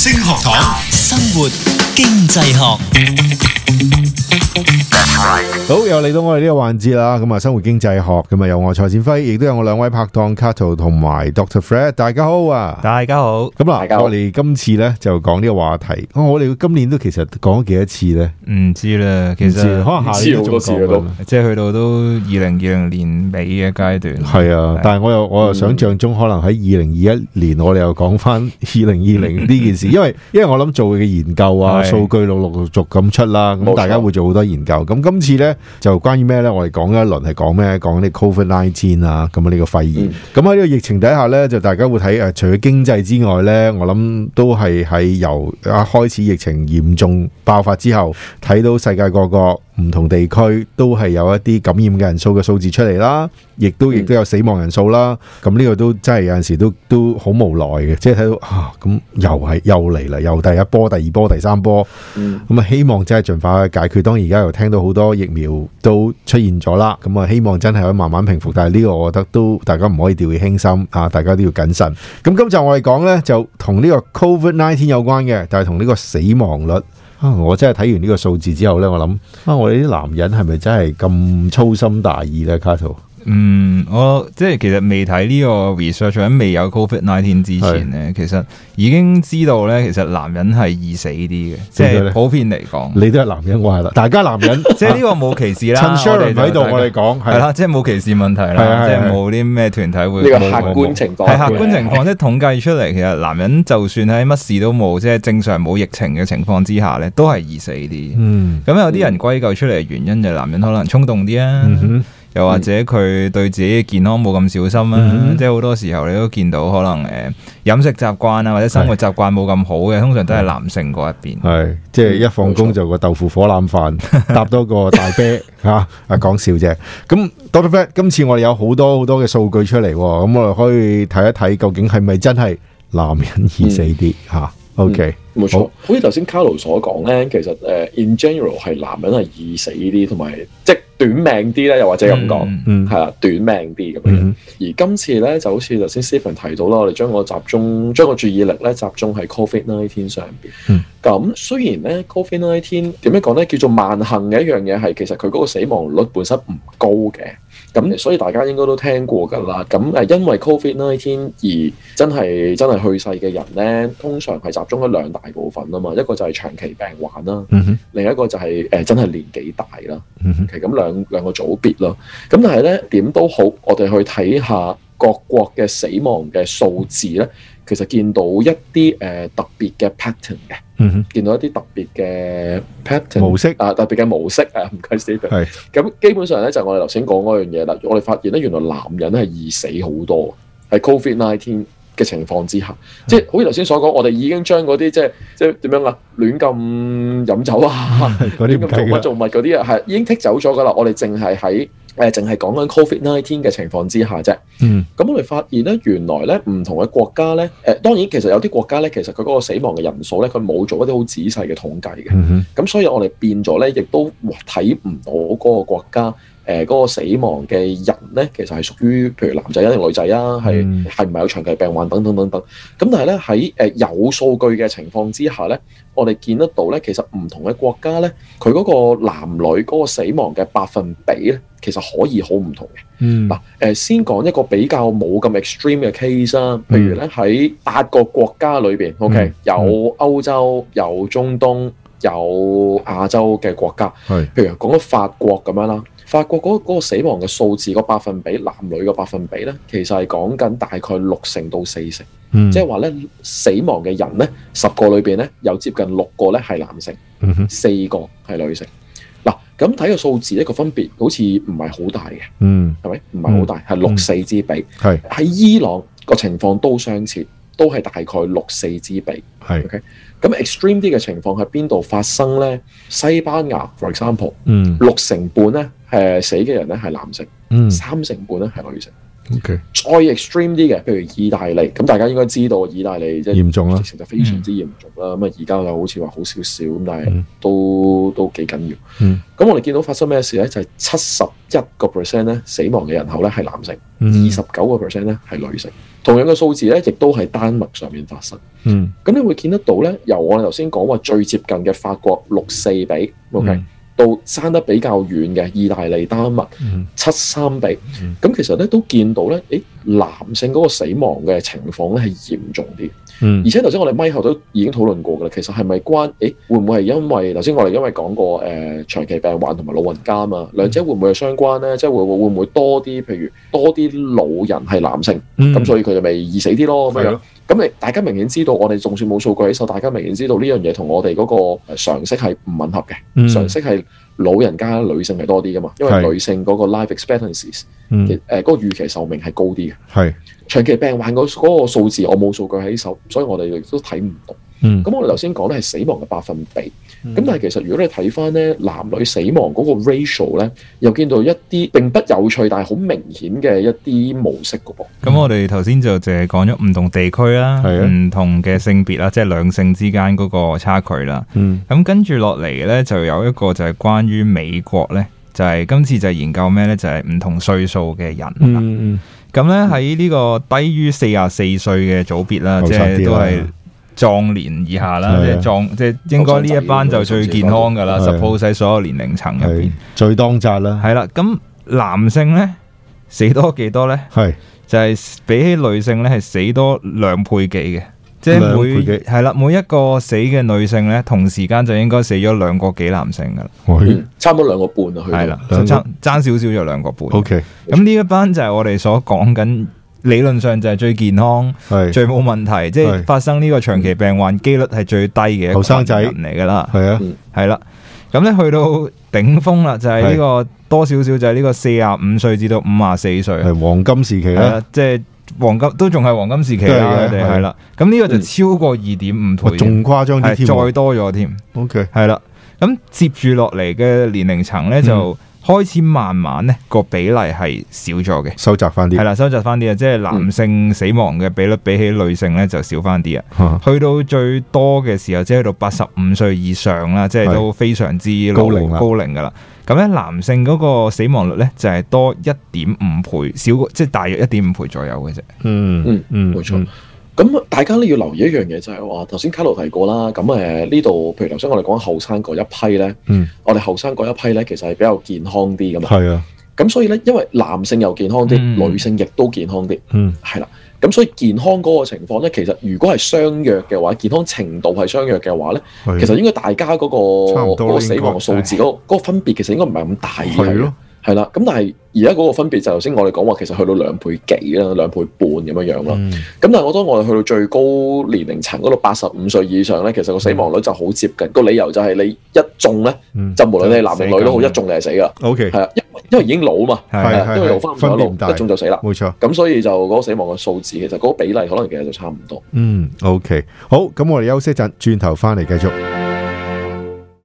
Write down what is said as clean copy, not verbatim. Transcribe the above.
星學堂， 生活經濟學。 好，又嚟到我哋呢個環節啦。咁啊，生活經濟學咁啊，有我蔡展輝，亦都有我兩位拍檔 Cato 同埋 Dr. Fred。大家好啊！ 大家好。 咁嗱，我哋今次咧就講呢個話題。我哋今年都其實講咗幾多次咧？唔知啦，其實可能下年都仲講， 即係去到都2020年尾嘅階段。 係啊，但係我又想象中可能喺2021年，我哋又講翻2020呢件事，因為我諗做嘅研究啊，數據陸續咁出啦，咁大家會做好多研究。咁今次咧就關於咩咧？我哋講一輪係講咩？講啲 COVID-19 啊，咁啊呢個肺炎。咁喺呢個疫情底下咧，就大家會睇除咗經濟之外咧，我諗都係喺由開始疫情嚴重爆發之後，睇到世界各個唔同地區都係有一啲感染嘅人數嘅數字出嚟啦，亦都有死亡人數啦。咁呢個都真係有陣時都好無奈嘅，即係睇到咁又嚟啦，又第一波、第二波、第三波。咁啊，希望真係盡快去解決。當而家又聽到好多疫苗都出現咗啦，咁啊，希望真係可以慢慢平復。但係呢個我覺得都大家唔可以掉以輕心啊，大家都要謹慎。咁今集我哋講呢，就同呢個 COVID-19 有關嘅，但係同呢個死亡率。我真係睇完呢個數字之後呢，我諗我哋啲男人係咪真係咁粗心大意呢？卡圖？ 我即係其實未睇呢個 research， 喺未有 COVID-19 之前呢，其實已經知道呢，其實男人係易死啲嘅，即係普遍嚟講。你都係男人，我係啦，大家男人， 即係呢個冇歧視啦。 趁 Sharon 喺度，我哋講係啦， 即係冇歧視問題啦，即係冇啲咩團體會。 呢個客觀情況係客觀情況，即係統計出嚟，其實男人就算喺乜事都冇，即係正常冇疫情嘅情況之下呢，都係易死啲。咁有啲人歸咎出嚟嘅原因就係男人可能衝動啲啊。又或者佢對自己嘅健康冇咁小心啊，即係好多時候你都見到可能飲食習慣啊或者生活習慣冇咁好嘅，通常都係男性嗰一邊。 係即係一放工就個豆腐火腩飯，搭多個大啤嚇，講笑啫。咁 Dr. Fred 今次我哋有好多嘅數據出嚟，咁我哋可以睇一睇究竟係咪真係男人易死啲嚇？OK， 冇錯。好似頭先 Carlo 所講咧，其實in general 係男人係易死啲，同埋即係短命啲咧，又或者咁講，係啦，短命啲咁樣。而今次咧就好似頭先 Stephen 提到啦，我哋將個注意力咧集中喺 COVID-19 上邊。咁雖然咧 COVID-19 點樣講咧，叫做萬幸嘅一樣嘢係，其實佢嗰個死亡率本身唔高嘅。咁所以大家應該都聽過㗎啦。咁因為 COVID-19 而真係去世嘅人咧，通常係集中咗兩大部分啊嘛。一個就係長期病患啦，另一個就係真係年紀大啦。其實咁兩個組別咯。咁但係咧點都好，我哋去睇下各國嘅死亡嘅數字咧，其實見到一啲特別嘅 pattern 嘅，見到一啲特別嘅 pattern 模式特別嘅模式唔該 Stephen。咁基本上咧就係我哋頭先講嗰樣嘢啦。我哋發現咧原來男人係易死好多，喺 COVID-19 嘅情況之下，即係好似頭先所講，我哋已經將嗰啲即係點樣啊，亂咁飲酒啊，亂咁做物嗰啲啊，係已經剔走咗噶啦。我哋淨係講緊 COVID-19 嘅情況之下啫。咁我哋發現咧，原來咧唔同嘅國家咧，當然其實有啲國家咧，其實佢嗰個死亡嘅人數咧，佢冇做一啲好仔細嘅統計嘅。咁所以我哋變咗咧，亦都睇唔到嗰個國家嗰個死亡嘅人咧，其實係屬於譬如男仔定女仔啊，係唔係有長期病患等等等等。咁但係咧喺有數據嘅情況之下咧，我哋見得到咧，其實唔同嘅國家咧，佢嗰個男女嗰個死亡嘅百分比咧，其實可以好唔同嘅。嗱，先講一個比較冇咁 extreme 嘅 case 啦，譬如咧喺8個國家裏邊，OK，有歐洲、有中東、有亞洲嘅國家，譬如講咗法國咁樣啦。法國嗰個死亡嘅數字個百分比，男女嘅百分比咧，其實係講緊大概60%到40%，即係話咧死亡嘅人咧10個裏邊咧有接近6個咧係男性，4個係女性。嗱，咁睇個數字咧個分別好似唔係好大嘅，係咪？唔係好大，係6-4之比。喺伊朗個情況都相似，都係大概6-4之比。OK。咁 extreme 啲嘅情況喺邊度發生咧？西班牙 for example，6成半咧死嘅人咧係男性，3成半咧係女性。 OK， 再 extreme 啲嘅，譬如意大利，咁大家應該知道意大利即係嚴重啦， 疫情就非常之嚴重啦。咁啊而家又好似話好少少，咁但係都幾緊要。咁我哋見到發生咩事咧？就係71% 咧死亡嘅人口咧係男性，29% 咧係女性。同樣嘅數字咧，亦都係丹麥上面發生。咁你會見得到咧，由我哋頭先講話最接近嘅法國6-4比，OK。到爭得比較遠嘅意大利、丹麥7-3比，咁其實咧都見到咧，男性嗰個死亡嘅情況咧係嚴重啲。而且頭先我哋咪後都已經討論過㗎啦，其實係咪關？會唔會係因為頭先我哋因為講過長期病患同埋老人家啊嘛，兩者會唔會係相關咧？即係會唔會多啲？譬如多啲老人係男性，咁所以佢就咪易死啲咯咁樣。咁大家明顯知道，我哋就算冇數據喺手，大家明顯知道呢樣嘢同我哋嗰個常識係唔吻合嘅。常識係老人家女性係多啲噶嘛，因為女性嗰個 life expectancies，嗰個預期壽命係高啲嘅。係長期病患嗰個數字，我冇數據喺手，所以我哋亦都睇唔到。咁我哋頭先講咧係死亡嘅百分比，咁但係其實如果你睇翻咧男女死亡嗰個 ratio 咧，又見到一啲並不有趣但係好明顯嘅一啲模式噶噃。 咁我哋頭先就淨係講咗唔同地區啦，唔同嘅性別啦，即係兩性之間嗰個差距啦。咁跟住落嚟咧，就有一個就係關於美國咧，就係今次就係研究咩咧，就係唔同歲數嘅人啦。咁咧喺呢個低於44歲嘅組別啦，即係都係壯年以下啦，即係應該呢一班就最健康噶啦。suppose 喺所有年齡層入邊最當責啦。係啦，咁男性咧死多幾多咧？係就係比起女性咧係死多2倍幾嘅，即係係啦，每一個死嘅女性咧同時間就應該死咗2個幾男性噶啦， 差唔多2個半啊。 係啦，爭少少就2個半。 OK， 咁呢一班就係我哋所講緊。理論上就係最健康、最冇問題，即係發生呢個長期病患機率係最低嘅後生仔人嚟噶啦。係啊，係啦。咁咧去到頂峰啦，就係呢個多少少就係呢個45歲至到54歲， 係黃金時期啦。 即係黃金都仲係黃金時期啦，佢哋係啦。咁呢個就超過2.5倍，仲誇張啲添，再多咗添。OK， 係啦。咁接住落嚟嘅年齡層咧就。開始慢慢咧個比例係少咗嘅，收窄翻啲，係啦，收窄翻啲啊！即係男性死亡嘅比率比起女性咧就少翻啲啊。去到最多嘅時候，即係去到85歲以上啦，即係都非常之高齡噶啦。咁咧男性嗰個死亡率咧就係多1.5倍，少即係大約1.5倍左右嘅啫。 冇錯。咁大家咧要留意一樣嘢，就係話頭先卡羅提過啦。咁呢度，譬如頭先我哋講後生嗰一批咧，我哋後生嗰一批咧，其實係比較健康啲噶嘛。係啊。咁所以咧，因為男性又健康啲，女性亦都健康啲。係啦。咁所以健康嗰個情況咧，其實如果係相若嘅話，健康程度係相若嘅話咧，其實應該大家嗰個死亡數字嗰個分別，其實應該唔係咁大嘅。係咯。係啦，咁但係而家嗰個分別就頭先我哋講話，其實去到2倍幾啦，2倍半咁樣樣啦。咁但係當我哋去到最高年齡層嗰度85歲以上咧，其實個死亡率就好接近。個理由就係你一中咧，就無論你係男定女都好，一中你係死噶。OK， 係啊，因為已經老嘛，因為老翻唔到路，一中就死啦。冇錯。咁所以就嗰個死亡嘅數字，其實嗰個比例可能其實就差唔多。OK， 好，咁我哋休息一陣，轉頭翻嚟繼續。